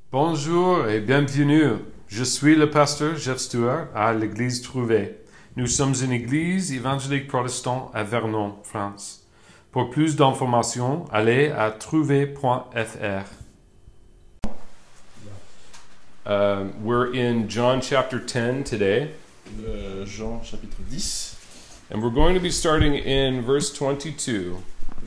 Bonjour et bienvenue. Je suis le pasteur Jeff Stewart à l'église Trouvé. Nous sommes une église évangélique protestante à Vernon, France. Pour plus d'informations, allez à trouvé.fr. We're in John chapter 10 today. Jean chapitre 10, And we're going to be starting in verse 22.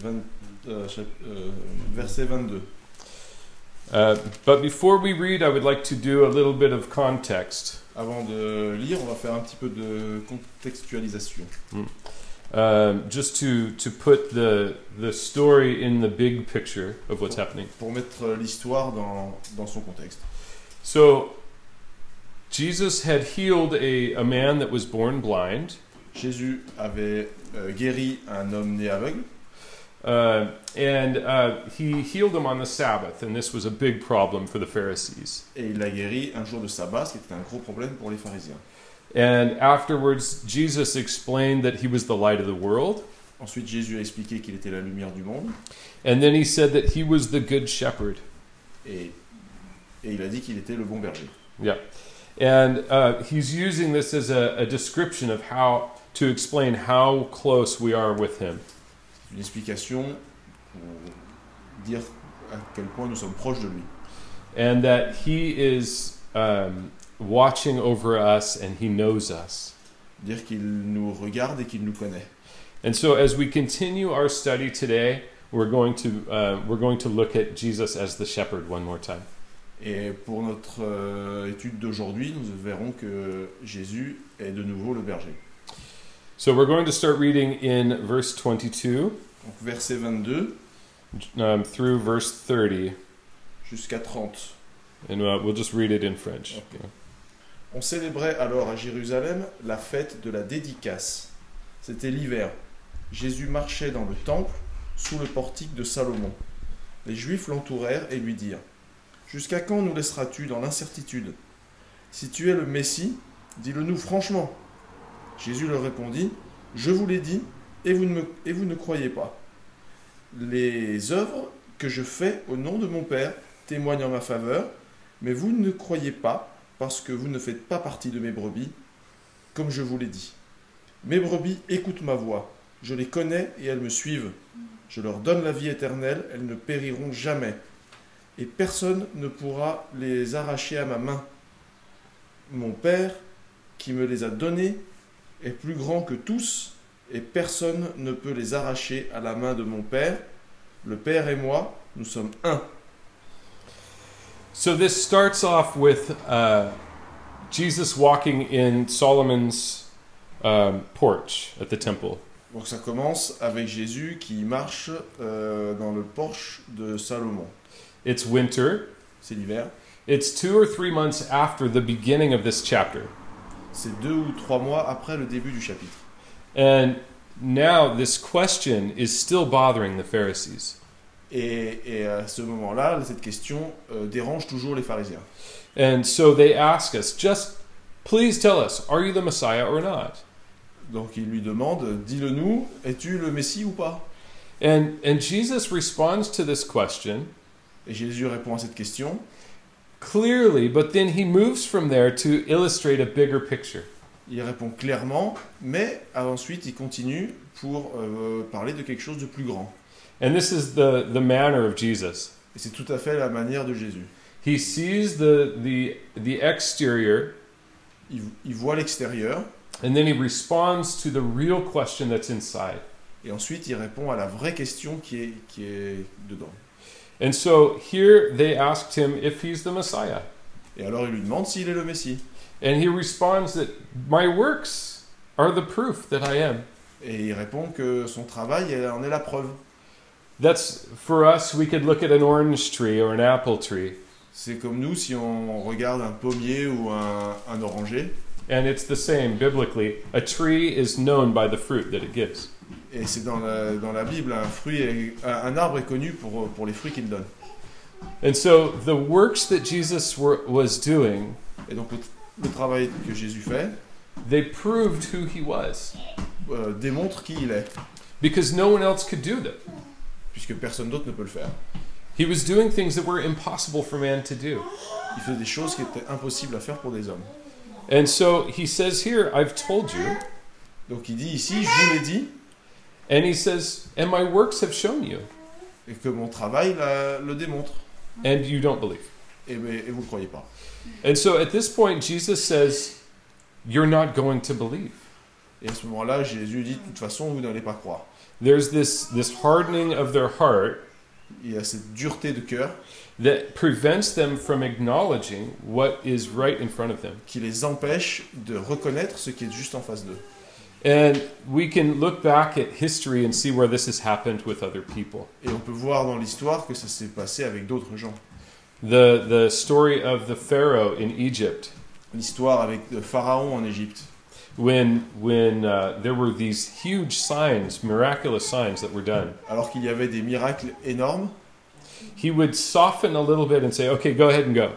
verset 22. But before we read, I would like to do a little bit of context. Avant de lire, on va faire un petit peu de contextualisation. Just to put the story in the big picture of what's happening. Pour mettre l'histoire dans son contexte. So, Jesus had healed a man that was born blind. Jésus avait guéri un homme né aveugle. He healed him on the Sabbath, and this was a big problem for the Pharisees. Et il l'a guéri un jour de sabbat, ce qui était un gros problème pour les pharisiens. And afterwards, Jesus explained that he was the light of the world. Ensuite, Jésus a expliqué qu'il était la lumière du monde. And then he said that he was the good shepherd. Et il a dit qu'il était le bon berger. Yeah. And he's using this as a description of how to explain how close we are with him. Une explication pour dire à quel point nous sommes proches de lui. And that he is watching over us and he knows us. Dire qu'il nous regarde et qu'il nous connaît. And so as we continue our study today, we're going to look at Jesus as the shepherd one more time. Et pour notre étude d'aujourd'hui, nous verrons que Jésus est de nouveau le berger. So we're going to start reading in verse 22 Donc verset 22 through verse 30, jusqu'à 30. and we'll just read it in French. Okay. On célébrait alors à Jérusalem la fête de la dédicace. C'était l'hiver. Jésus marchait dans le temple sous le portique de Salomon. Les Juifs l'entourèrent et lui dirent : « Jusqu'à quand nous laisseras-tu dans l'incertitude ? Si tu es le Messie, dis-le-nous franchement. » Jésus leur répondit : « Je vous l'ai dit, et vous ne croyez pas. Les œuvres que je fais au nom de mon Père témoignent en ma faveur, mais vous ne croyez pas, parce que vous ne faites pas partie de mes brebis, comme je vous l'ai dit. Mes brebis écoutent ma voix, je les connais et elles me suivent. Je leur donne la vie éternelle, elles ne périront jamais, et personne ne pourra les arracher à ma main. Mon Père, qui me les a donnés, est plus grand que tous, et personne ne peut les arracher à la main de mon Père. Le Père et moi, nous sommes un. So this starts off with Jesus walking in Solomon's porch at the temple. Donc ça commence avec Jésus qui marche dans le porche de Salomon. It's winter. C'est l'hiver. It's 2 or 3 months after the beginning of this chapter. C'est 2 ou 3 mois après le début du chapitre. And now this question is still bothering the Pharisees. Et à ce moment-là, cette question dérange toujours les pharisiens. And so they ask us, just please tell us, are you the Messiah or not? Donc ils lui demandent, dis-le-nous, es-tu le Messie ou pas ? And Jesus responds to this question Et Jésus répond à cette question clearly, but then he moves from there to illustrate a bigger picture. Il répond clairement, mais ensuite il continue pour parler de quelque chose de plus grand. And this is the manner of Jesus. Et c'est tout à fait la manière de Jésus. He sees the exterior, Il voit l'extérieur, and then he responds to the real question that's inside. et ensuite il répond à la vraie question qui est dedans. And so here they asked him if he's the Messiah. Et alors il lui demande s'il est le Messie. And he responds that my works are the proof that I am. Et il répond que son travail en est la preuve. That's, for us, we could look at an orange tree or an apple tree. C'est comme nous si on regarde un pommier ou un oranger. And it's the same biblically. A tree is known by the fruit that it gives. Et c'est dans la Bible, un arbre est connu pour les fruits qu'il donne. And so the works that Jesus was doing, Et donc le travail que Jésus fait they proved who he was. Démontre qui il est, Because no one else could do them. puisque personne d'autre ne peut le faire. He was doing things that were impossible for man to do. Il faisait des choses qui étaient impossibles à faire pour des hommes. And so he says here, I've told you. Donc il dit ici, je vous l'ai dit, And he says, and my works have shown you. et que mon travail le démontre. And you don't believe. Et vous ne le croyez pas. And so at this point, Jesus says, you're not going to believe. Et à ce moment-là, Jésus dit, de toute façon, vous n'allez pas croire. There's this hardening of their heart Il y a cette dureté de cœur that prevents them from acknowledging what is right in front of them. qui les empêche de reconnaître ce qui est juste en face d'eux. And we can look back at history and see where this has happened with other people. Et on peut voir dans l'histoire que ça s'est passé avec d'autres gens. The story of the Pharaoh in Egypt, L'histoire avec le Pharaon en Égypte. when there were these huge signs, miraculous signs that were done. Alors qu'il y avait des miracles énormes, He would soften a little bit and say, okay, go ahead and go.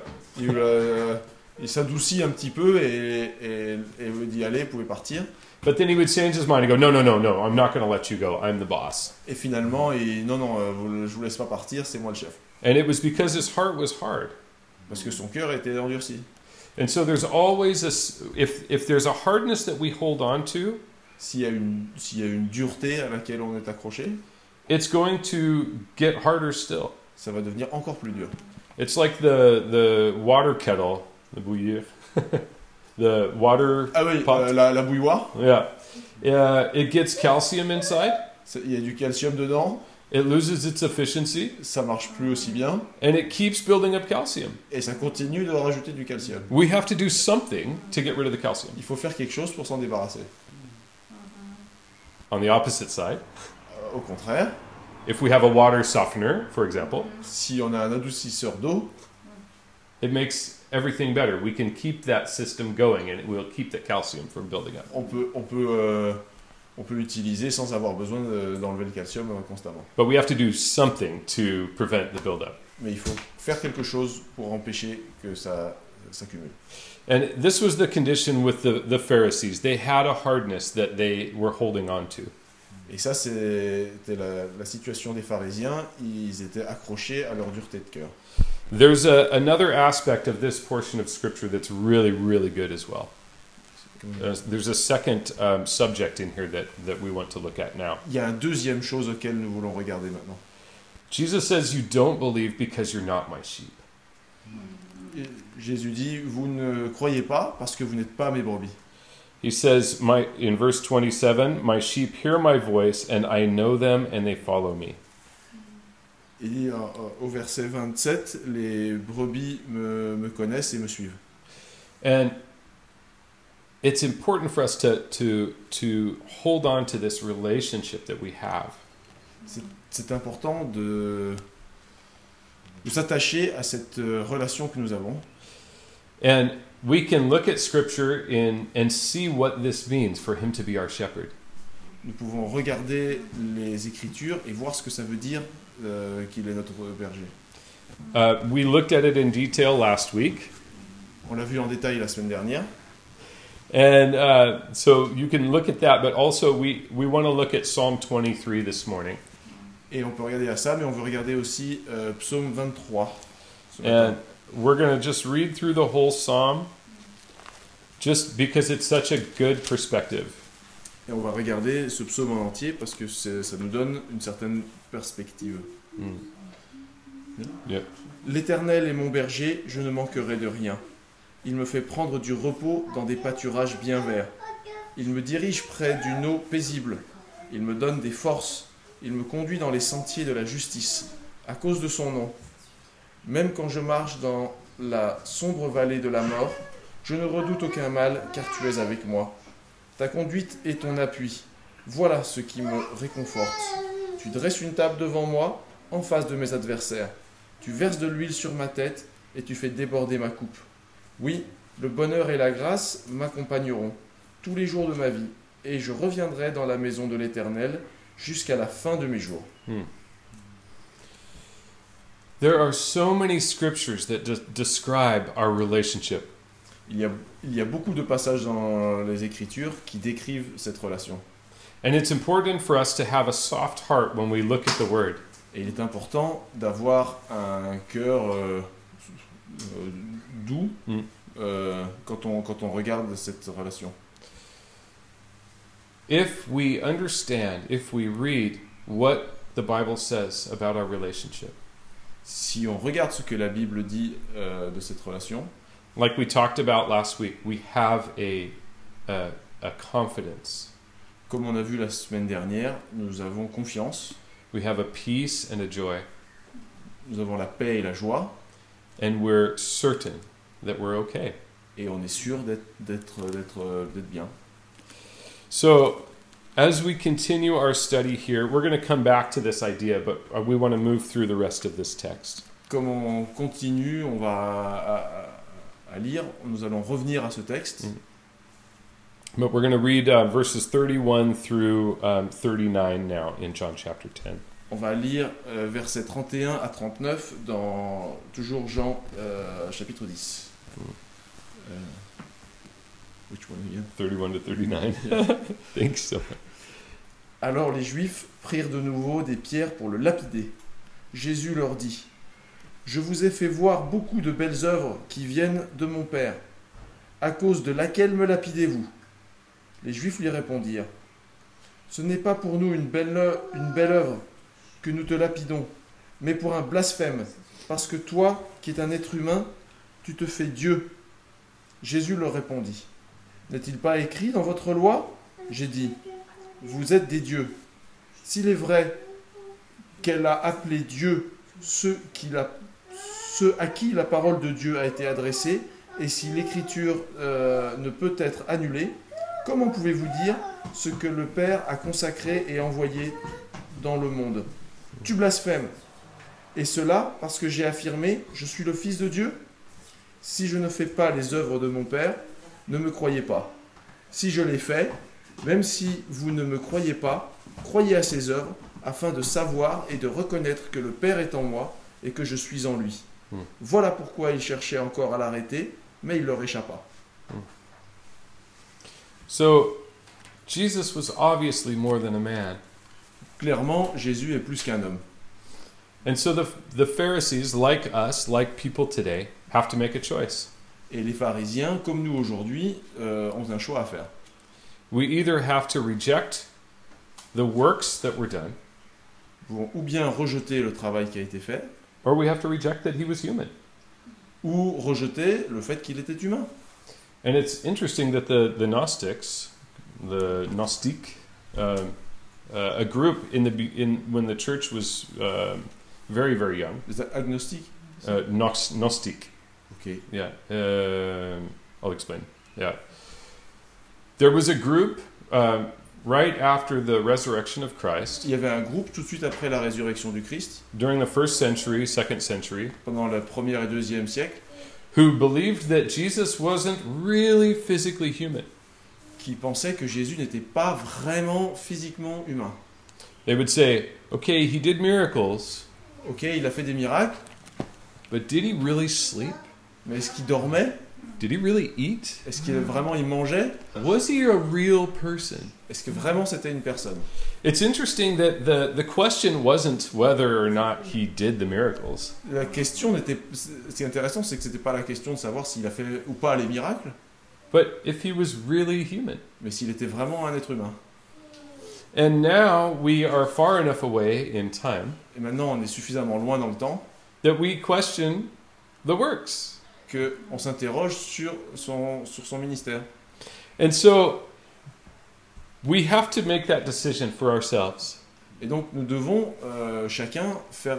il s'adoucit un petit peu et vous dit allez, vous pouvez partir. But then he would change his mind and go, no, I'm not going to let you go. I'm the boss. Et finalement, je vous laisse pas partir, c'est moi le chef. And it was because his heart was hard. Parce que son cœur était endurci. And so there's always if there's a hardness that we hold on to, S'il y a une dureté à laquelle on est accroché, it's going to get harder still. ça va devenir encore plus dur. It's like the water kettle, the bouillir, the water Ah oui, pot. la bouilloire, Yeah. It gets calcium inside. il y a du calcium dedans, It loses its efficiency, ça marche plus aussi bien, and it keeps building up calcium. et ça continue de rajouter du calcium. We have to do something to get rid of the calcium. Il faut faire quelque chose pour s'en débarrasser. On the opposite side, Au contraire, if we have a water softener, for example, si on a un adoucisseur d'eau, it makes everything better. We can keep that system going, and it will keep the calcium from building up. on peut l'utiliser sans avoir besoin d'enlever le calcium constamment. But we have to do something to prevent the buildup. Mais il faut faire quelque chose pour empêcher que ça s'accumule. And this was the condition with the Pharisees. They had a hardness that they were holding on to. Et ça, c'était la situation des pharisiens. Ils étaient accrochés à leur dureté de cœur. There's another aspect of this portion of Scripture that's really, really good as well. There's a second subject in here that we want to look at now. Il y a une deuxième chose auquel nous voulons regarder maintenant. Jesus says, you don't believe because you're not my sheep. Et Jésus dit, vous ne croyez pas parce que vous n'êtes pas mes brebis. He says in verse 27, my sheep hear my voice and I know them and they follow me. Il dit au verset 27, les brebis me connaissent et me suivent. And it's important for us to hold on to this relationship that we have. C'est important de s'attacher à cette relation que nous avons. And we can look at Scripture and see what this means for him to be our shepherd. Nous pouvons regarder les Écritures et voir ce que ça veut dire qu'il est notre berger. We looked at it in detail last week. On l'a vu en détail la semaine dernière. And so you can look at that, but also we want to look at Psalm 23 this morning. Et on peut regarder à ça, mais on veut regarder aussi Psaume 23. And we're going to just read through the whole psalm, just because it's such a good perspective. Et on va regarder ce psaume en entier parce que ça nous donne une certaine perspective. Yep. L'Éternel est mon berger, je ne manquerai de rien. Il me fait prendre du repos dans des pâturages bien verts. Il me dirige près d'une eau paisible. Il me donne des forces. Il me conduit dans les sentiers de la justice, à cause de son nom. Même quand je marche dans la sombre vallée de la mort, je ne redoute aucun mal, car tu es avec moi. Ta conduite est ton appui. Voilà ce qui me réconforte. Tu dresses une table devant moi, en face de mes adversaires. Tu verses de l'huile sur ma tête, et tu fais déborder ma coupe. Oui, le bonheur et la grâce m'accompagneront tous les jours de ma vie, et je reviendrai dans la maison de l'Éternel jusqu'à la fin de mes jours. There are so many scriptures that describe our relationship. Il y a beaucoup de passages dans les Écritures qui décrivent cette relation. And it's important for us to have a soft heart when we look at the Word. Et il est important d'avoir un cœur doux quand on regarde cette relation. If we understand, if we read what the Bible says about our relationship, Si on regarde ce que la Bible dit de cette relation, like we talked about last week, we have a confidence. comme on a vu la semaine dernière, nous avons confiance, We have a peace and a joy, nous avons la paix et la joie, and we're certain that we're okay. et on est sûr d'être bien. So, as we continue our study here, we're going to come back to this idea, but we want to move through the rest of this text. Comme on continue, on va à lire, nous allons revenir à ce texte. But we're going to read verses 31 through 39 now in John chapter 10. On va lire versets 31 à 39 dans toujours Jean chapitre 10. Which one again? 31 to 39. Thanks so much. Alors les Juifs prirent de nouveau des pierres pour le lapider. Jésus leur dit : Je vous ai fait voir beaucoup de belles œuvres qui viennent de mon Père. À cause de laquelle me lapidez-vous ? Les Juifs lui répondirent : Ce n'est pas pour nous une belle œuvre que nous te lapidons, mais pour un blasphème, parce que toi, qui es un être humain, tu te fais Dieu. Jésus leur répondit : N'est-il pas écrit dans votre loi ? J'ai dit : Vous êtes des dieux. S'il est vrai qu'elle a appelé Dieu ceux à qui la parole de Dieu a été adressée, et si l'écriture ne peut être annulée, comment pouvez-vous dire ce que le Père a consacré et envoyé dans le monde ? Tu blasphèmes. Et cela parce que j'ai affirmé : Je suis le Fils de Dieu ? Si je ne fais pas les œuvres de mon Père, ne me croyez pas. Si je les fais, même si vous ne me croyez pas, croyez à ses œuvres, afin de savoir et de reconnaître que le Père est en moi et que je suis en lui. Voilà pourquoi ils cherchaient encore à l'arrêter, mais il leur échappa. So, Jesus was obviously more than a man. Clairement, Jésus est plus qu'un homme. And so the Pharisees, like us, like people today, have to make a choice. Et les pharisiens, comme nous aujourd'hui, ont un choix à faire. We either have to reject the works that were done, Ils vont ou bien rejeter le travail qui a été fait, or we have to reject that he was human. ou rejeter le fait qu'il était humain. And it's interesting that the Gnostics, the Gnostic, a group when the church was very, very young, Les agnostiques. Gnostic. Ok. Yeah, I'll explain. Yeah, there was a group right after the resurrection of Christ, Il y avait un groupe tout de suite après la résurrection du Christ, during the first century, second century, pendant le 1er et 2e siècle, who believed that Jesus wasn't really physically human. qui pensaient que Jésus n'était pas vraiment physiquement humain. They would say, okay, he did miracles, Ok, il a fait des miracles, but did he really sleep? mais est-ce qu'il dormait ? Did he really eat? Est-ce qu'il vraiment il mangeait ? Was he a real person? Est-ce que vraiment c'était une personne ? It's interesting that the question wasn't whether or not he did the miracles. La question n'était... Ce qui est intéressant, c'est que c'était pas la question de savoir s'il a fait ou pas les miracles, But if he was really human. mais s'il était vraiment un être humain. And now we are far enough away in time Et maintenant, on est suffisamment loin dans le temps that we question the works. qu'on s'interroge sur son ministère. And so we have to make that decision for ourselves. Et donc, nous devons chacun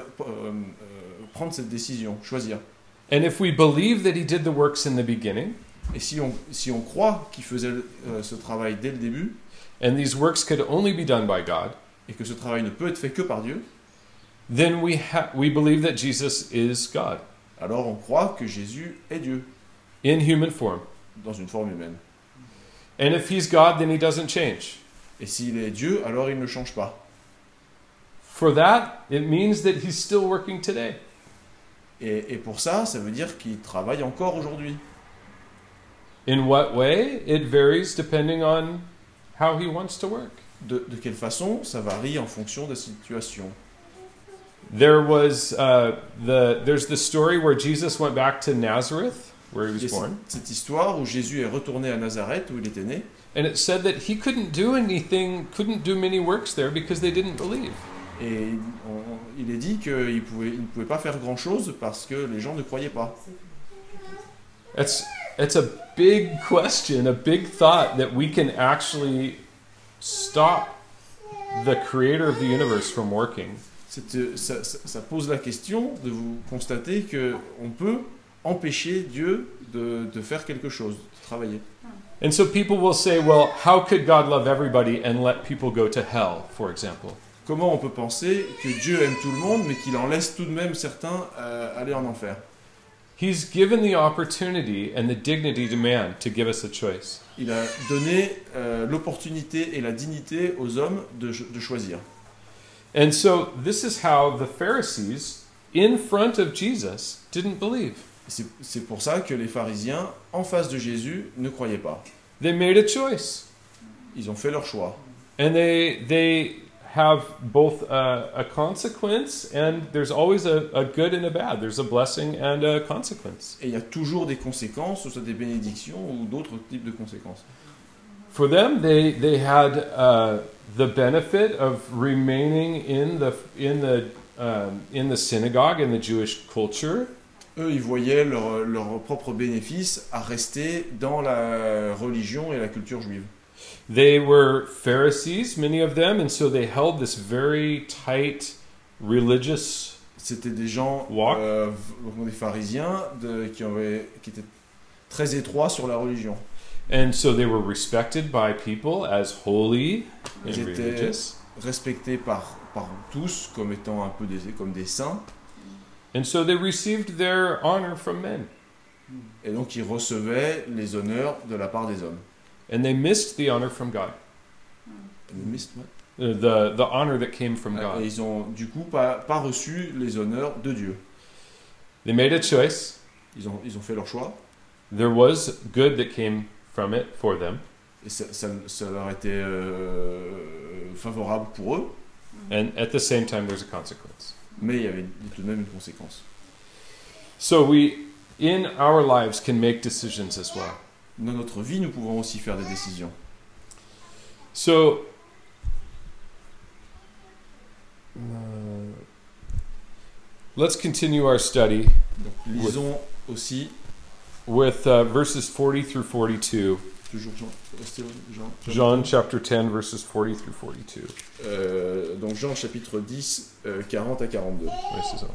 prendre cette décision, choisir. And if we believe that he did the works in the beginning, Et si on croit qu'il faisait ce travail dès le début, and these works could only be done by God, et que ce travail ne peut être fait que par Dieu, then we believe that Jesus is God alors on croit que Jésus est Dieu, in human form. dans une forme humaine. And if he's God, then he doesn't change. Et s'il est Dieu, alors il ne change pas. For that, it means that he's still working today. Et pour ça, ça veut dire qu'il travaille encore aujourd'hui. In what way? It varies depending on how he wants to work. De quelle façon? Ça varie en fonction des situations. There's the story where Jesus went back to Nazareth, where he was Et born, cette histoire où Jésus est retourné à Nazareth, où il était né, and it said that he couldn't do many works there because they didn't believe. et il est dit qu'il ne pouvait pas faire grand-chose parce que les gens ne croyaient pas. It's a big question, a big thought that we can actually stop the creator of the universe from working. Ça pose la question de vous constater qu'on peut empêcher Dieu de faire quelque chose, de travailler. And so people will say, well, how could God love everybody and let people go to hell, for example? Comment on peut penser que Dieu aime tout le monde, mais qu'il en laisse tout de même certains aller en enfer? He's given the opportunity and the dignity to man to give us a choice. Il a donné l'opportunité et la dignité aux hommes de choisir. And so this is how the Pharisees, in front of Jesus, didn't believe. C'est pour ça que les pharisiens, en face de Jésus, ne croyaient pas. They made a choice. Ils ont fait leur choix. And they have both a consequence, and there's always a good and a bad. There's a blessing and a consequence. Et il y a toujours des conséquences, soit des bénédictions ou d'autres types de conséquences. For them, they had the benefit of remaining in the synagogue in the Jewish culture. Eux, ils voyaient leur propre bénéfice à rester dans la religion et la culture juive. They were Pharisees, many of them, and so they held this very tight religious. C'était des gens, des pharisiens, qui étaient très étroits sur la religion. And so they were respected by people as holy and Ils étaient religious. respectés par tous comme étant un peu comme des saints. And so they received their honor from men. Et donc ils recevaient les honneurs de la part des hommes. And they missed the honor from God. The honor that came from Et God. ils ont du coup pas reçu les honneurs de Dieu. They made a choice. Ils ont fait leur choix. There was good that came from it for them. Et ça leur était favorable pour eux. And at the same time, there's a consequence. Mais il y avait tout de même une conséquence. So we, in our lives, can make decisions as well. Dans notre vie, nous pouvons aussi faire des décisions. So, let's continue our study Donc, lisons aussi, with verses 40 through 42. toujours John chapter 10, verses 40 through 42. donc Jean chapitre 10, 40 à 42. Ouais, c'est ça.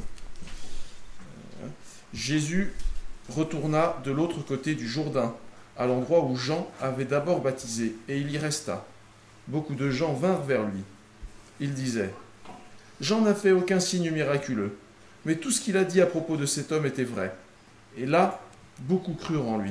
Jésus retourna de l'autre côté du Jourdain, à l'endroit où Jean avait d'abord baptisé, et il y resta. Beaucoup de gens vinrent vers lui. Ils disaient : Jean n'a fait aucun signe miraculeux, mais tout ce qu'il a dit à propos de cet homme était vrai. Et là, beaucoup crurent en lui.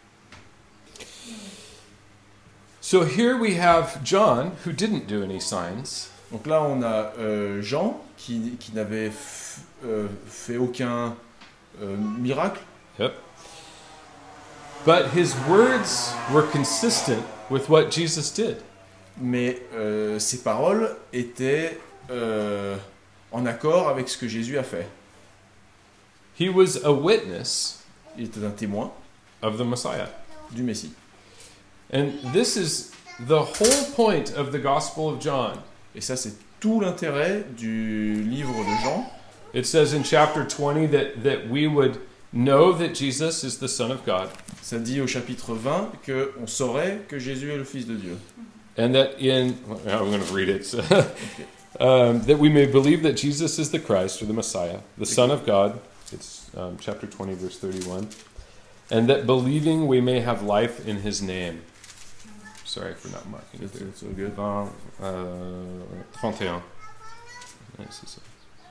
So here we have John, who didn't do any signs. Donc là, on a Jean qui n'avait fait aucun miracle, Yep. But his words were consistent with what Jesus did. mais ses paroles étaient en accord avec ce que Jésus a fait. He was a witness Il était un témoin of the Messiah. du Messie. And this is the whole point of the Gospel of John. Et ça, c'est tout l'intérêt du livre de Jean. It says in chapter 20 that we would know that Jesus is the Son of God. Ça dit au chapitre 20 qu'on saurait que Jésus est le Fils de Dieu. And that I'm going to read it. That we may believe that Jesus is the Christ, or the Messiah, the Son of God. It's chapter 20, verse 31. And that believing we may have life in His name. Sorry for not marking it there. It's so good. 31. Ouais, c'est ça.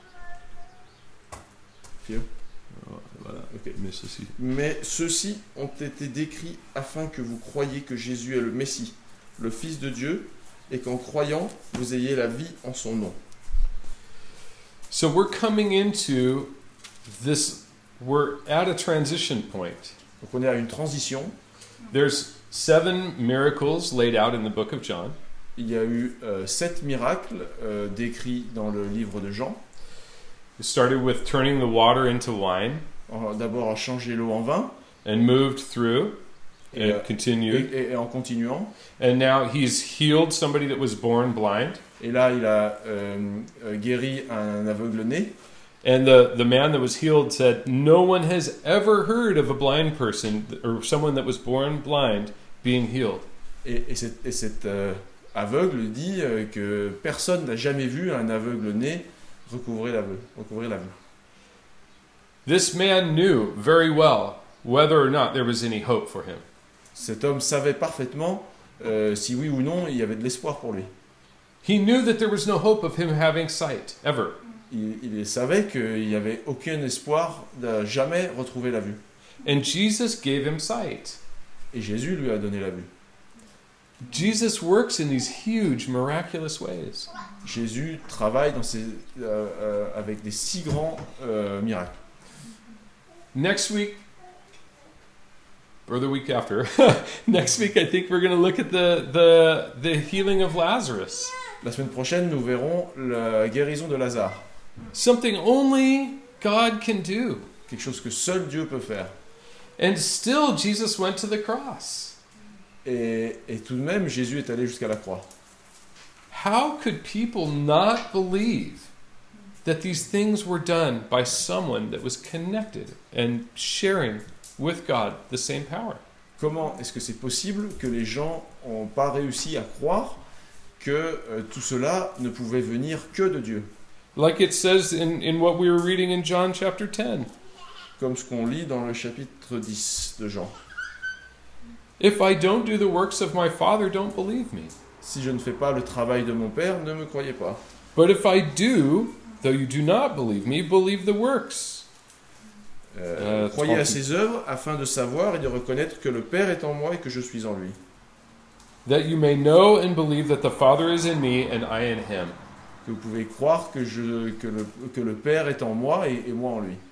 Fio. Voilà. Ok. Mais ceci. Mais ceux-ci ont été décrits afin que vous croyiez que Jésus est le Messie, le Fils de Dieu, et qu'en croyant, vous ayez la vie en son nom. So we're coming into this, we're at a transition point. Donc on est à une transition. There's 7 miracles laid out in the book of John. Il y a eu 7 miracles décrits dans le livre de Jean. It started with turning the water into wine D'abord a changé l'eau en vin, and moved through et, and continued. et en continuant. And now he's healed somebody that was born blind. Et là, il a guéri un aveugle-né. And the man that was healed said, "No one has ever heard of a blind person or someone that was born blind being healed." Et cet aveugle dit que personne n'a jamais vu un aveugle-né recouvrer la vue. This man knew very well whether or not there was any hope for him. Cet homme savait parfaitement si oui ou non il y avait de l'espoir pour lui. He knew that there was no hope of him having sight, ever. Il savait qu'il n'y avait aucun espoir de jamais retrouver la vue. And Jesus gave him sight. Et Jésus lui a donné la vue. Jesus works in these huge, miraculous ways. Jésus travaille avec des si grands miracles. Next week, or the week after, next week I think we're going to look at the healing of Lazarus. La semaine prochaine, nous verrons la guérison de Lazare. Something only God can do. Quelque chose que seul Dieu peut faire. And still Jesus went to the cross. Et tout de même, Jésus est allé jusqu'à la croix. How could people not believe that these things were done by someone that was connected and sharing with God the same power? Comment est-ce que c'est possible que les gens n'ont pas réussi à croire que tout cela ne pouvait venir que de Dieu? Like it says in what we were reading in John chapter 10. Comme ce qu'on lit dans le chapitre 10 de Jean. If I don't do the works of my Father, don't believe me. Si je ne fais pas le travail de mon Père, ne me croyez pas. But if I do, though you do not believe me, believe the works. Croyez à ses œuvres afin de savoir et de reconnaître que le Père est en moi et que je suis en lui. That you may know and believe that the Father is in me and I in him. Que vous pouvez croire que le Père est en moi et moi en lui.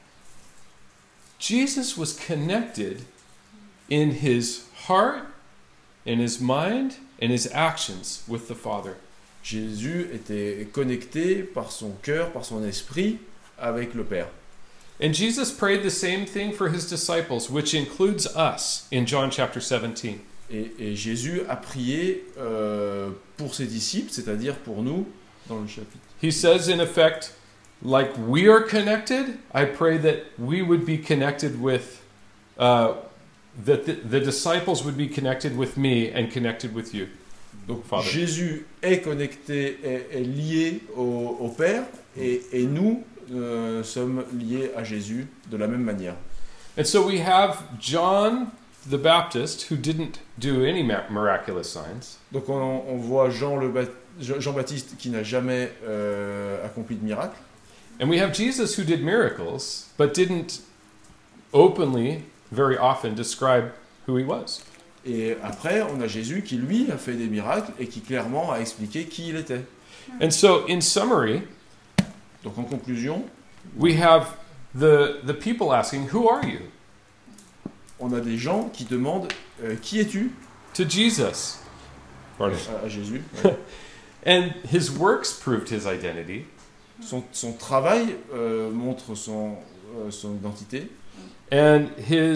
Jesus was connected in his heart, in his mind, and his actions with the Father. Jésus était connecté par son cœur, par son esprit avec le Père. And Jesus prayed the same thing for his disciples, which includes us in John chapter 17. Et Jésus a prié pour ses disciples, c'est-à-dire pour nous, dans le chapitre. He says in effect, like we are connected, I pray that we would be connected with, that the disciples would be connected with me and connected with you. Donc, Father. Jésus est connecté, est lié au Père, et nous sommes liés à Jésus de la même manière. And so we have John the Baptist, who didn't do any miraculous signs. Donc on voit Jean-Baptiste qui n'a jamais accompli de miracle. And we have Jesus who did miracles, but didn't openly, very often, describe who he was. Et après, on a Jésus qui, lui, a fait des miracles et qui clairement a expliqué qui il était. And so, in summary, donc en conclusion, we have the people asking, "Who are you?" On a des gens qui demandent qui es-tu? To Jesus. Pardon. À Jésus. Ouais. And his works proved his identity. Son travail montre son identité. And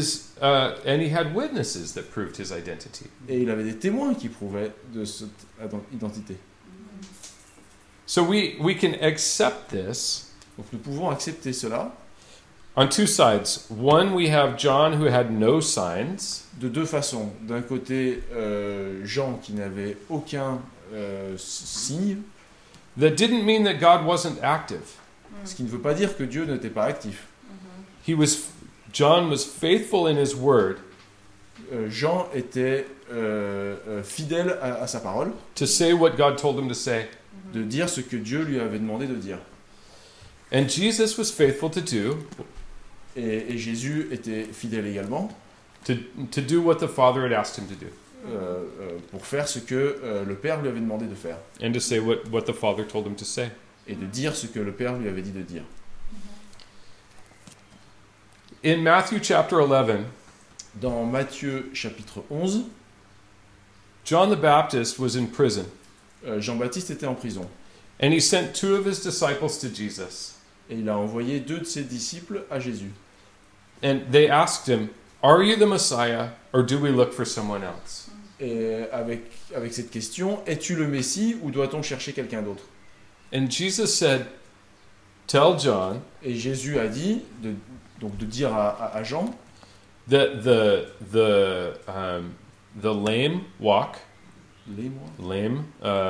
he had witnesses that proved his identity. Et il avait des témoins qui prouvaient de cette identité. So we can accept this. Donc nous pouvons accepter cela. On two sides. One, we have John who had no signs. De deux façons. D'un côté, Jean qui n'avait aucun signe. That didn't mean that God wasn't active. Ce qui ne veut pas dire que Dieu n'était pas actif. John was faithful in his word. Jean était fidèle à sa parole. To say what God told him to say. De dire ce que Dieu lui avait demandé de dire. And Jesus was faithful to do. Et Jésus était fidèle également. To do what the Father had asked him to do. Pour faire ce que le Père lui avait demandé de faire. And to say what the Father told him to say. Et de dire ce que le Père lui avait dit de dire. In Matthew chapter 11, dans Matthieu chapitre 11, John the Baptist was in prison. Jean-Baptiste était en prison. And he sent two of his disciples to Jesus. Et il a envoyé 2 de ses disciples à Jésus. And they asked him, "Are you the Messiah, or do we look for someone else?" Et avec cette question, es-tu le Messie ou doit-on chercher quelqu'un d'autre? And Jesus said, "Tell John Et Jésus a dit, de dire à Jean, that the lame walk, lame,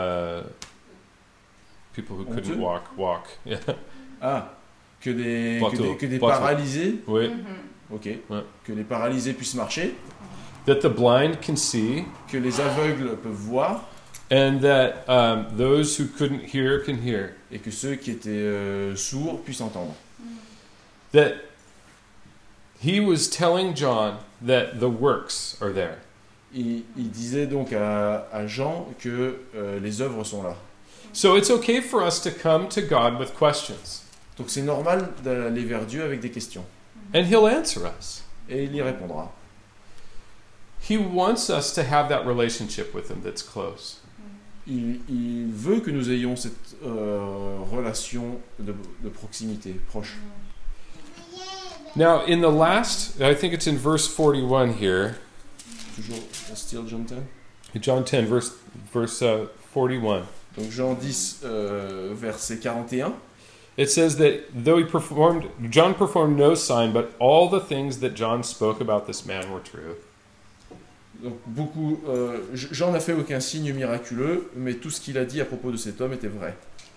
people who couldn't Honteux. walk. Yeah. Que des Bateau. paralysés, Oui. ok, Ouais. que les paralysés puissent marcher, That the blind can see, que les aveugles peuvent voir, and that those who couldn't hear can hear. et que ceux qui étaient sourds puissent entendre. That he was telling John that the works are there. Il disait donc à Jean que les œuvres sont là. So it's okay for us to come to God with questions, Donc c'est normal d'aller vers Dieu avec des questions. and he'll answer us. Et il y répondra. He wants us to have that relationship with him that's close. Il veut que nous ayons cette relation de proximité, proche. Now, in the last, I think it's in verse 41 here, Toujours still John 10. John 10, verse 41. Donc Jean 10, verset 41. It says that John performed no sign, but all the things that John spoke about this man were true. Donc Jean n'a fait aucun signe miraculeux, mais tout ce qu'il a dit à propos de cet homme était vrai.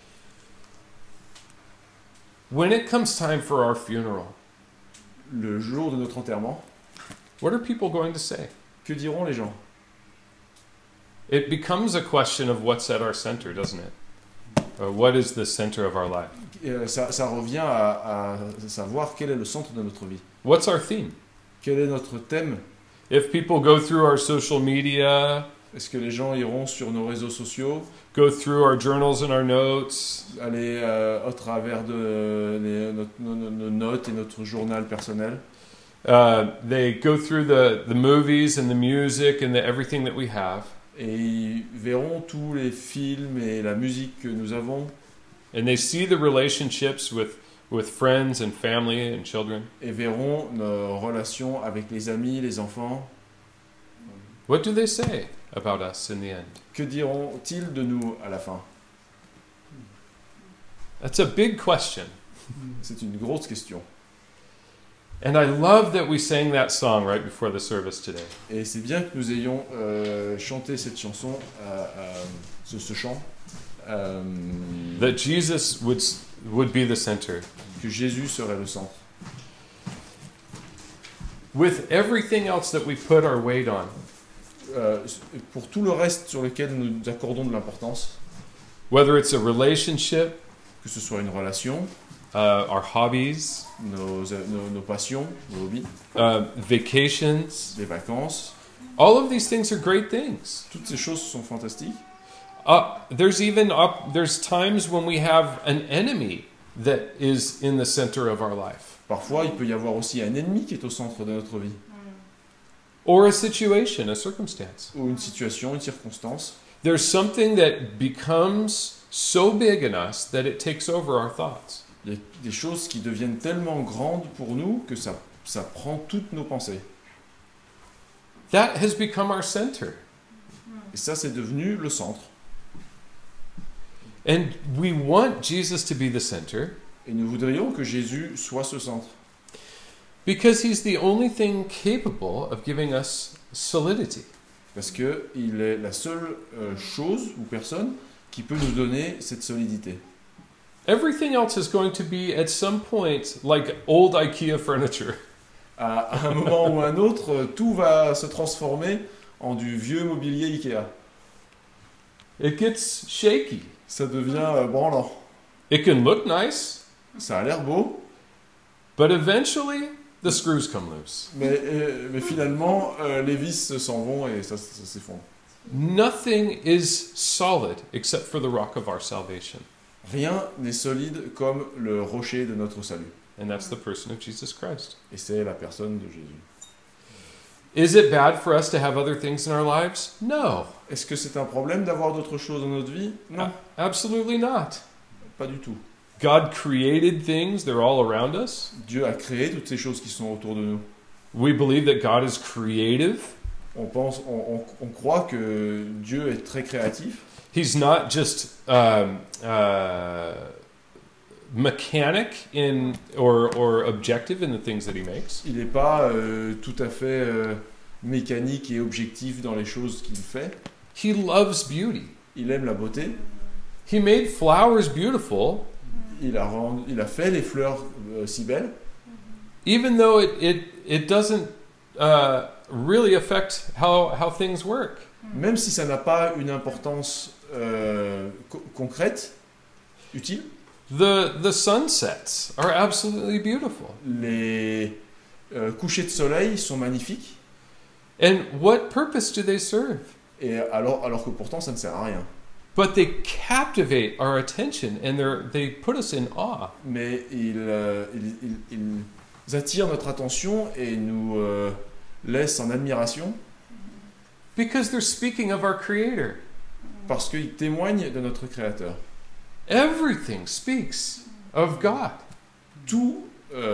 When it comes time for our funeral, Le jour de notre enterrement, what are people going to say? que diront les gens? It becomes a question of what's at our center, doesn't it? Or what is the center of our life? Ça revient à savoir quel est le centre de notre vie. What's our theme? Quel est notre thème? If people go through our social media, Est-ce que les gens iront sur nos réseaux sociaux, go through our journals and our notes, aller au travers de nos notes et notre journal personnel? they go through the movies and the music and everything that we have, Et ils verront tous les films et la musique que nous avons, and they see the relationships with friends and family and children. et verront nos relations avec les amis, les enfants. What do they say about us in the end? Que diront-ils de nous à la fin? That's a big question. C'est une grosse question. And I love that we sang that song right before the service today. Et c'est bien que nous ayons chanté cette chanson, ce chant, That Jesus would be the center. que Jésus serait le centre. With everything else that we put our weight on, Pour tout le reste sur lequel nous accordons de l'importance, whether it's a relationship, que ce soit une relation, our hobbies, nos passions, nos hobbies, vacations, les vacances, all of these things are great things. toutes ces choses sont fantastiques. There's times when we have an enemy that is in the center of our life, Parfois, il peut y avoir aussi un ennemi qui est au centre de notre vie, or a situation, a circumstance. ou une situation, une circonstance. There's something that becomes so big in us that it takes over our thoughts. Il y a des choses qui deviennent tellement grandes pour nous que ça prend toutes nos pensées. That has become our center. Et ça, c'est devenu le centre. And we want Jesus to be the center Et nous voudrions que Jésus soit ce centre. because he's the only thing capable of giving us solidity. Parce qu'il est la seule chose ou personne qui peut nous donner cette solidité. Everything else is going to be at some point like old IKEA furniture. À un moment ou un autre, tout va se transformer en du vieux mobilier Ikea. It gets shaky. Ça devient branlant. It can look nice, Ça a l'air beau, but eventually the screws come loose. mais finalement, les vis s'en vont et ça s'effondre. Nothing is solid except for the rock of our salvation, Rien n'est solide comme le rocher de notre salut. and that's the person of Jesus Christ. Et c'est la personne de Jésus. Is it bad for us to have other things in our lives? No, Est-ce que c'est un problème d'avoir d'autres choses dans notre vie? Non, absolutely not. pas du tout. God created things, they're all around us. Dieu a créé toutes ces choses qui sont autour de nous. We believe that God is creative. On croit que Dieu est très créatif. He's not just mechanic in or objective in the things that he makes. Il n'est pas tout à fait mécanique et objectif dans les choses qu'il fait. He loves beauty. Il aime la beauté. He made flowers beautiful, Il a fait les fleurs si belles, even though it doesn't really affect how things work. même si ça n'a pas une importance concrète, utile. The sunsets are absolutely beautiful. Les couchers de soleil sont magnifiques, And what purpose do they serve? et alors que pourtant ça ne sert à rien. But they captivate our attention and they put us in awe. Mais ils attirent notre attention et nous laissent en admiration Because they're speaking of our Creator. parce qu'ils témoignent de notre Créateur. Everything speaks of God. Tout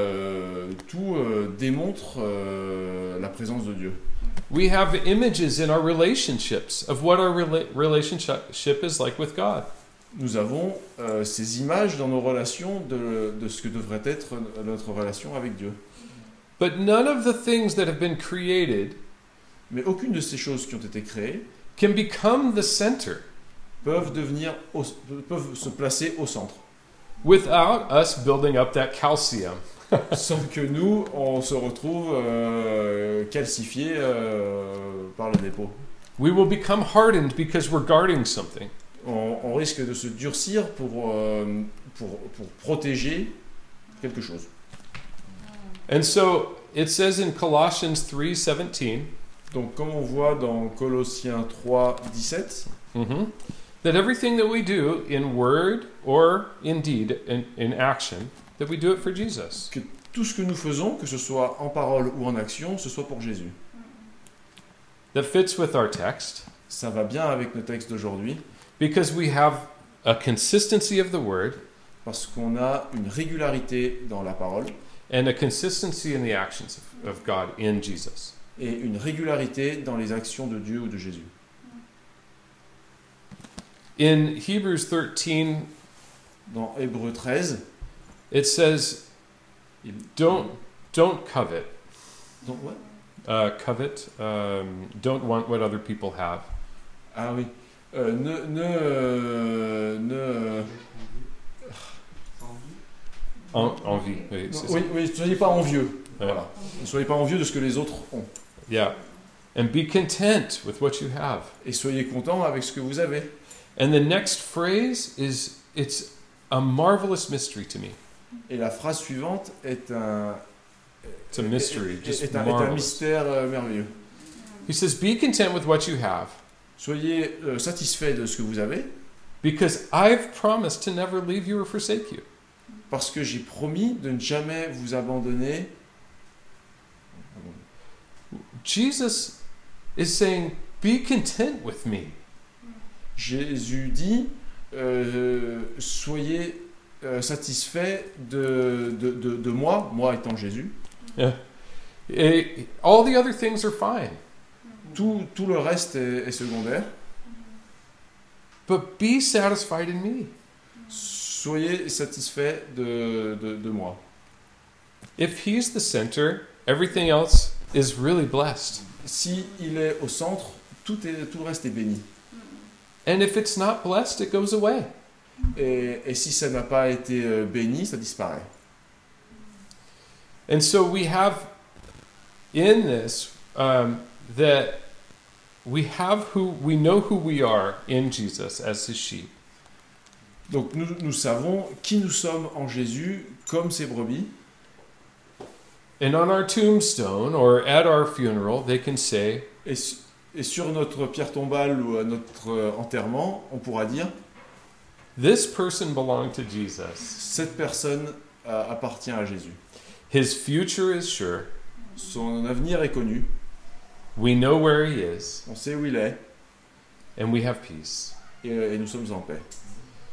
démontre la présence de Dieu. We have images in our relationships of what our relationship is like with God. Nous avons ces images dans nos relations de ce que devrait être notre relation avec Dieu. But none of the things that have been created Mais aucune de ces choses qui ont été créées can become the center peuvent se placer au centre, without us building up that calcium. sans que nous, on se retrouve calcifiés par le dépôt. We will become hardened because we're guarding something. On risque de se durcir pour protéger quelque chose. And so it says in Colossians 3:17 Donc, comme on voit dans Colossiens 3, 17, that everything that we do in word or in deed, in action, that we do it for Jesus. que tout ce que nous faisons, que ce soit en parole ou en action, ce soit pour Jésus. That fits with our text Ça va bien avec nos textes d'aujourd'hui, because we have a consistency of the word parce qu'on a une régularité dans la parole and a consistency in the actions of God in Jesus. et une régularité dans les actions de Dieu ou de Jésus. In Hebrews 13, Dans Hébreux 13, it says, don't covet. donc, ouais. Covet, don't want what other people have. Ah oui. Envie. Oui, c'est ça. Oui, ne soyez pas envieux. Ouais. Voilà. Ne soyez pas envieux de ce que les autres ont. Yeah. And be content with what you have. Et soyez contents avec ce que vous avez. And the next phrase it's a marvelous mystery to me. Et la phrase suivante est un It's a mystery, just est un marvelous. mystère merveilleux. He says, be content with what you have, Soyez satisfaits de ce que vous avez, because I've promised to never leave you or forsake you. parce que j'ai promis de ne jamais vous abandonner. Jesus is saying, be content with me. Jésus dit, soyez satisfaits de moi étant Jésus. All the other things are fine, Tout le reste est secondaire. but be satisfied in me. Soyez satisfaits de moi. If he's the center, everything else is really blessed. Si il est au centre, tout le reste est béni. And if it's not blessed, it goes away. Et si ça n'a pas été béni, ça disparaît. And so we have in this that we know who we are in Jesus as his sheep. Donc nous savons qui nous sommes en Jésus comme ses brebis. And on our tombstone or at our funeral, they can say, Et sur notre pierre tombale ou à notre enterrement, on pourra dire this person belonged to Jesus. cette personne appartient à Jésus. His future is sure. Son avenir est connu. We know where he is, On sait où il est and we have peace. et nous sommes en paix.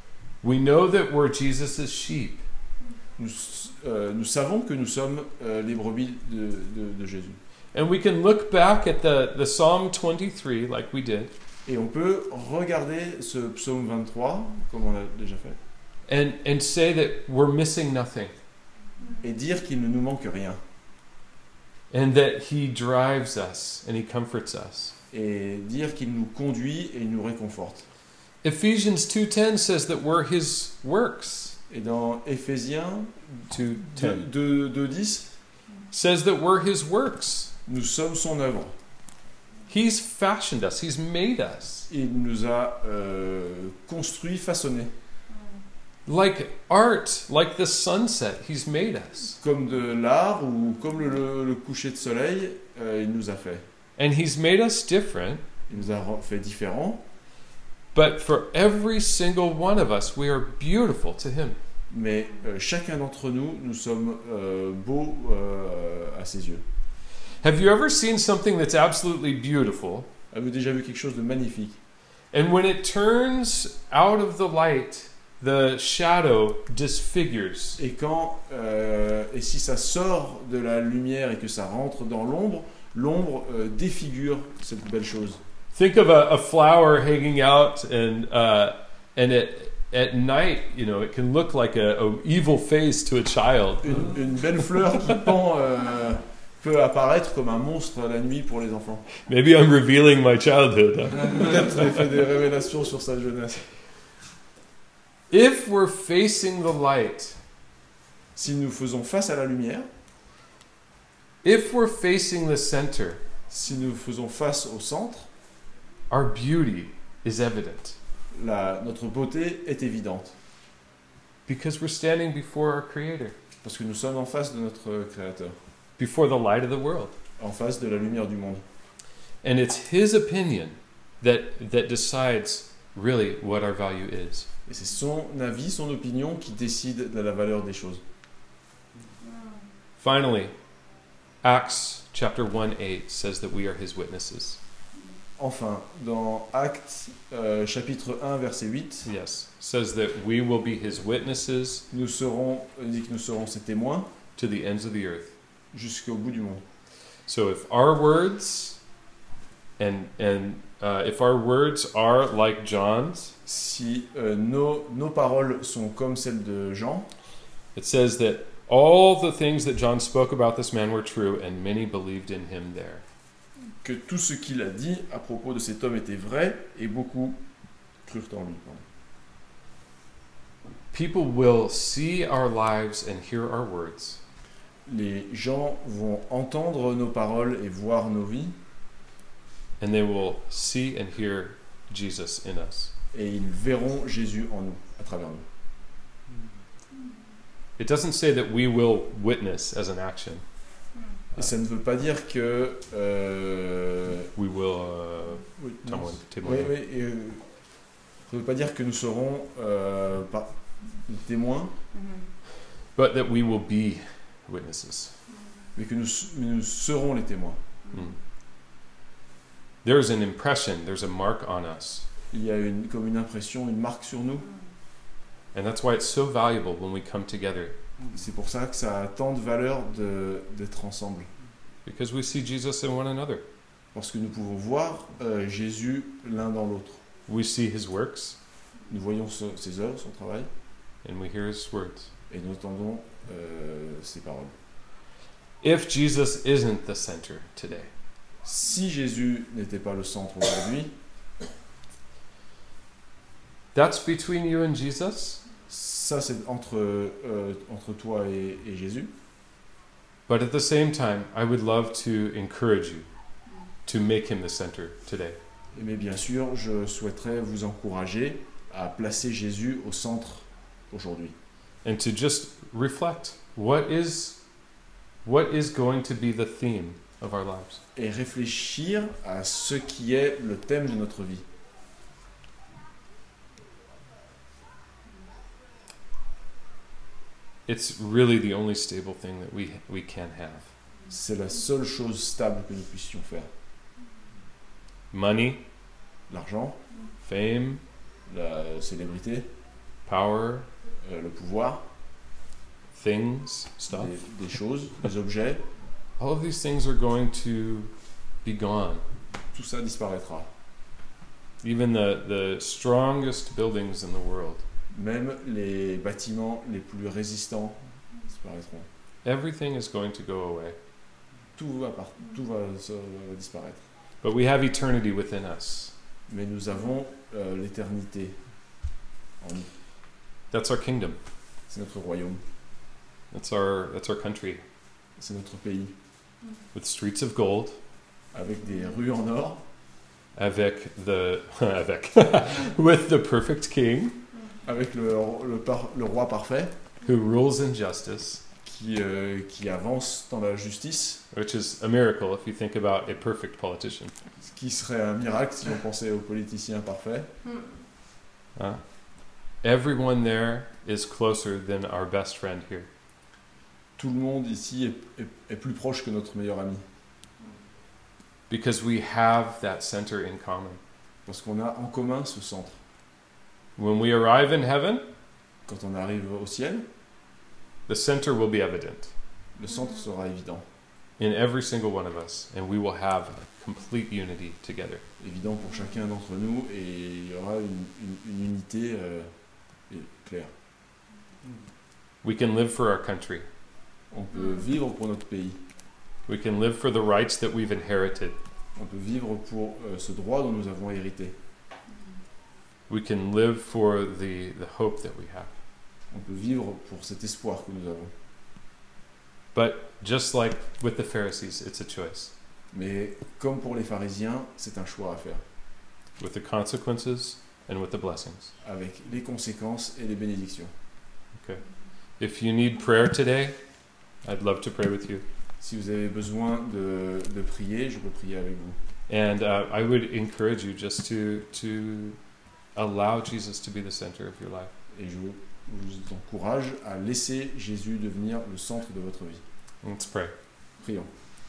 We know that we're Jesus' sheep. Nous savons que nous sommes les brebis de Jésus. And we can look back at the Psalm 23 like we did. Et on peut regarder ce psaume 23, comme on l'a déjà fait, And say that we're missing nothing. et dire qu'il ne nous manque rien. And that he drives us and he comforts us. Et dire qu'il nous conduit et nous réconforte. Ephesians 2:10 says that we're his works. Et dans Éphésiens 2:10 2:10, says that we're his works. nous sommes son œuvre. He's fashioned us. He's made us. Il nous a construit, façonné. Like art, like the sunset, he's made us. Comme de l'art ou comme le coucher de soleil, il nous a fait. And he's made us different. Il nous a fait différents. But for every single one of us, we are beautiful to him. Mais chacun d'entre nous, nous sommes beaux à ses yeux. Have you ever seen something that's absolutely beautiful, Avez-vous déjà vu quelque chose de magnifique? and when it turns out of the light, the shadow disfigures? Et et si ça sort de la lumière et que ça rentre dans l'ombre, l'ombre défigure cette belle chose. Think of a flower hanging out, and at night, you know, it can look like a evil face to a child. Une belle fleur qui pend peut apparaître comme un monstre la nuit pour les enfants. Maybe I'm revealing my childhood. Huh? Peut-être il fait des révélations sur sa jeunesse. If we're facing the light, Si nous faisons face à la lumière, if we're facing the center, si nous faisons face au centre, our beauty is evident notre beauté est évidente. because we're standing before our Creator, Parce que nous sommes en face de notre Créateur, before the light of the world. en face de la lumière du monde. And it's His opinion that decides really what our value is. Et c'est son avis, son opinion qui décide de la valeur des choses. Finally, Acts chapter 1:8 says that we are His witnesses. Enfin, dans Actes chapitre 1 verset 8, Yes, says that we will be His witnesses il dit que nous serons ses témoins to the ends of the earth. jusqu'au bout du monde. So if our words if our words are like John's, Si nos paroles sont comme celles de Jean, it says that all the things that John spoke about this man were true, and many believed in him there. que tout ce qu'il a dit à propos de cet homme était vrai et beaucoup crurent en lui. People will see our lives and hear our words, Les gens vont entendre nos paroles et voir nos vies, and they will see and hear Jesus in us. et ils verront Jésus en nous, à travers nous. It doesn't say that we will witness as an action. Et ça ne veut pas dire que... We will oui, témoigner. ça ne veut pas dire que nous serons témoins, But that we will be witnesses. mais que nous serons les témoins. There's an impression, there's a mark on us. Il y a comme une impression, une marque sur nous. And that's why it's so valuable when we come together. C'est pour ça que ça a tant de valeur d'être ensemble. Because we see Jesus in one another. Parce que nous pouvons voir Jésus l'un dans l'autre. We see His works, Nous voyons ses œuvres, son travail, and we hear His words. et nous entendons ses paroles. If Jesus isn't the center today, Si Jésus n'était pas le centre aujourd'hui, that's between you and Jesus. ça c'est entre toi et Jésus. But at the same time, I would love to encourage you to make Him the center today. Mais bien sûr, je souhaiterais vous encourager à placer Jésus au centre aujourd'hui. And to just reflect, what is going to be the theme of our lives? Et réfléchir à ce qui est le thème de notre vie. It's really the only stable thing that we can have. C'est la seule chose stable que nous puissions faire. Money, L'argent, fame, la célébrité, power, le pouvoir, things, stuff. des choses, des objets, All of these things are going to be gone. tout ça disparaîtra. Even the strongest buildings in the world. Même les bâtiments les plus résistants disparaîtront. Everything is going to go away. Tout va disparaître. But we have eternity within us. Mais nous avons l'éternité en nous. That's our kingdom. C'est notre royaume, That's our country. c'est notre pays, With streets of gold, avec des rues en or, avec with the perfect king avec le roi parfait who rules in justice, qui avance dans la justice, which is a miracle if you think about a perfect politician. ce qui serait un miracle si on pensait aux politiciens parfaits. Everyone there is closer than our best friend here. Tout le monde ici est plus proche que notre meilleur ami, Because we have that center in common. parce qu'on a en commun ce centre. When we arrive in heaven, Quand on arrive au ciel, the center will be evident le centre sera évident, in every single one of us, and we will have complete unity together. évident pour chacun d'entre nous, et il y aura une unité claire. We can live for our country. On peut vivre pour notre pays, We can live for the rights that we've inherited. on peut vivre pour ce droit dont nous avons hérité, We can live for the hope that we have. on peut vivre pour cet espoir que nous avons. But just like with the Pharisees, it's a choice. Mais comme pour les pharisiens, c'est un choix à faire, With the consequences and with the blessings. avec les conséquences et les bénédictions. If you need prayer today, I'd love to pray with you. Si vous avez besoin de prier, je peux prier avec vous. And I would encourage you just to allow Jesus to be the center of your life. Et je vous encourage à laisser Jésus devenir le centre de votre vie. Let's pray. Prions.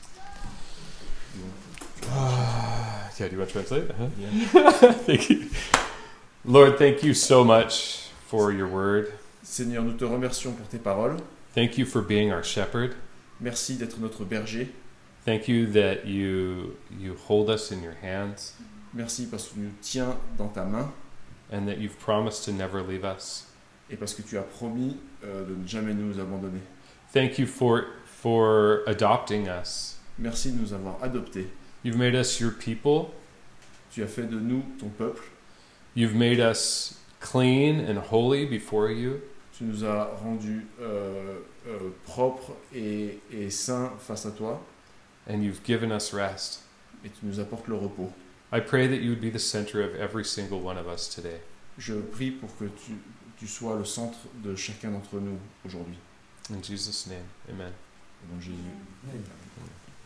Yeah, do you want to translate? Uh-huh. Yeah. Thank you. Lord, thank you so much for your word. Seigneur, nous te remercions pour tes paroles. Thank you for being our shepherd. Merci d'être notre berger. Thank you that you hold us in your hands Merci parce que tu nous tiens dans ta main and that you've promised to never leave us. et parce que tu as promis de ne jamais nous abandonner. Thank you for adopting us. Merci de nous avoir adoptés. You've made us your people. Tu as fait de nous ton peuple. You've made us clean and holy before you. Tu nous as rendus propres et saints face à toi And you've given us rest. et tu nous apportes le repos. I pray that you would be the center of every single one of us today. Je prie pour que tu sois le centre de chacun d'entre nous aujourd'hui. In Jesus' name, amen. Au nom de Jésus.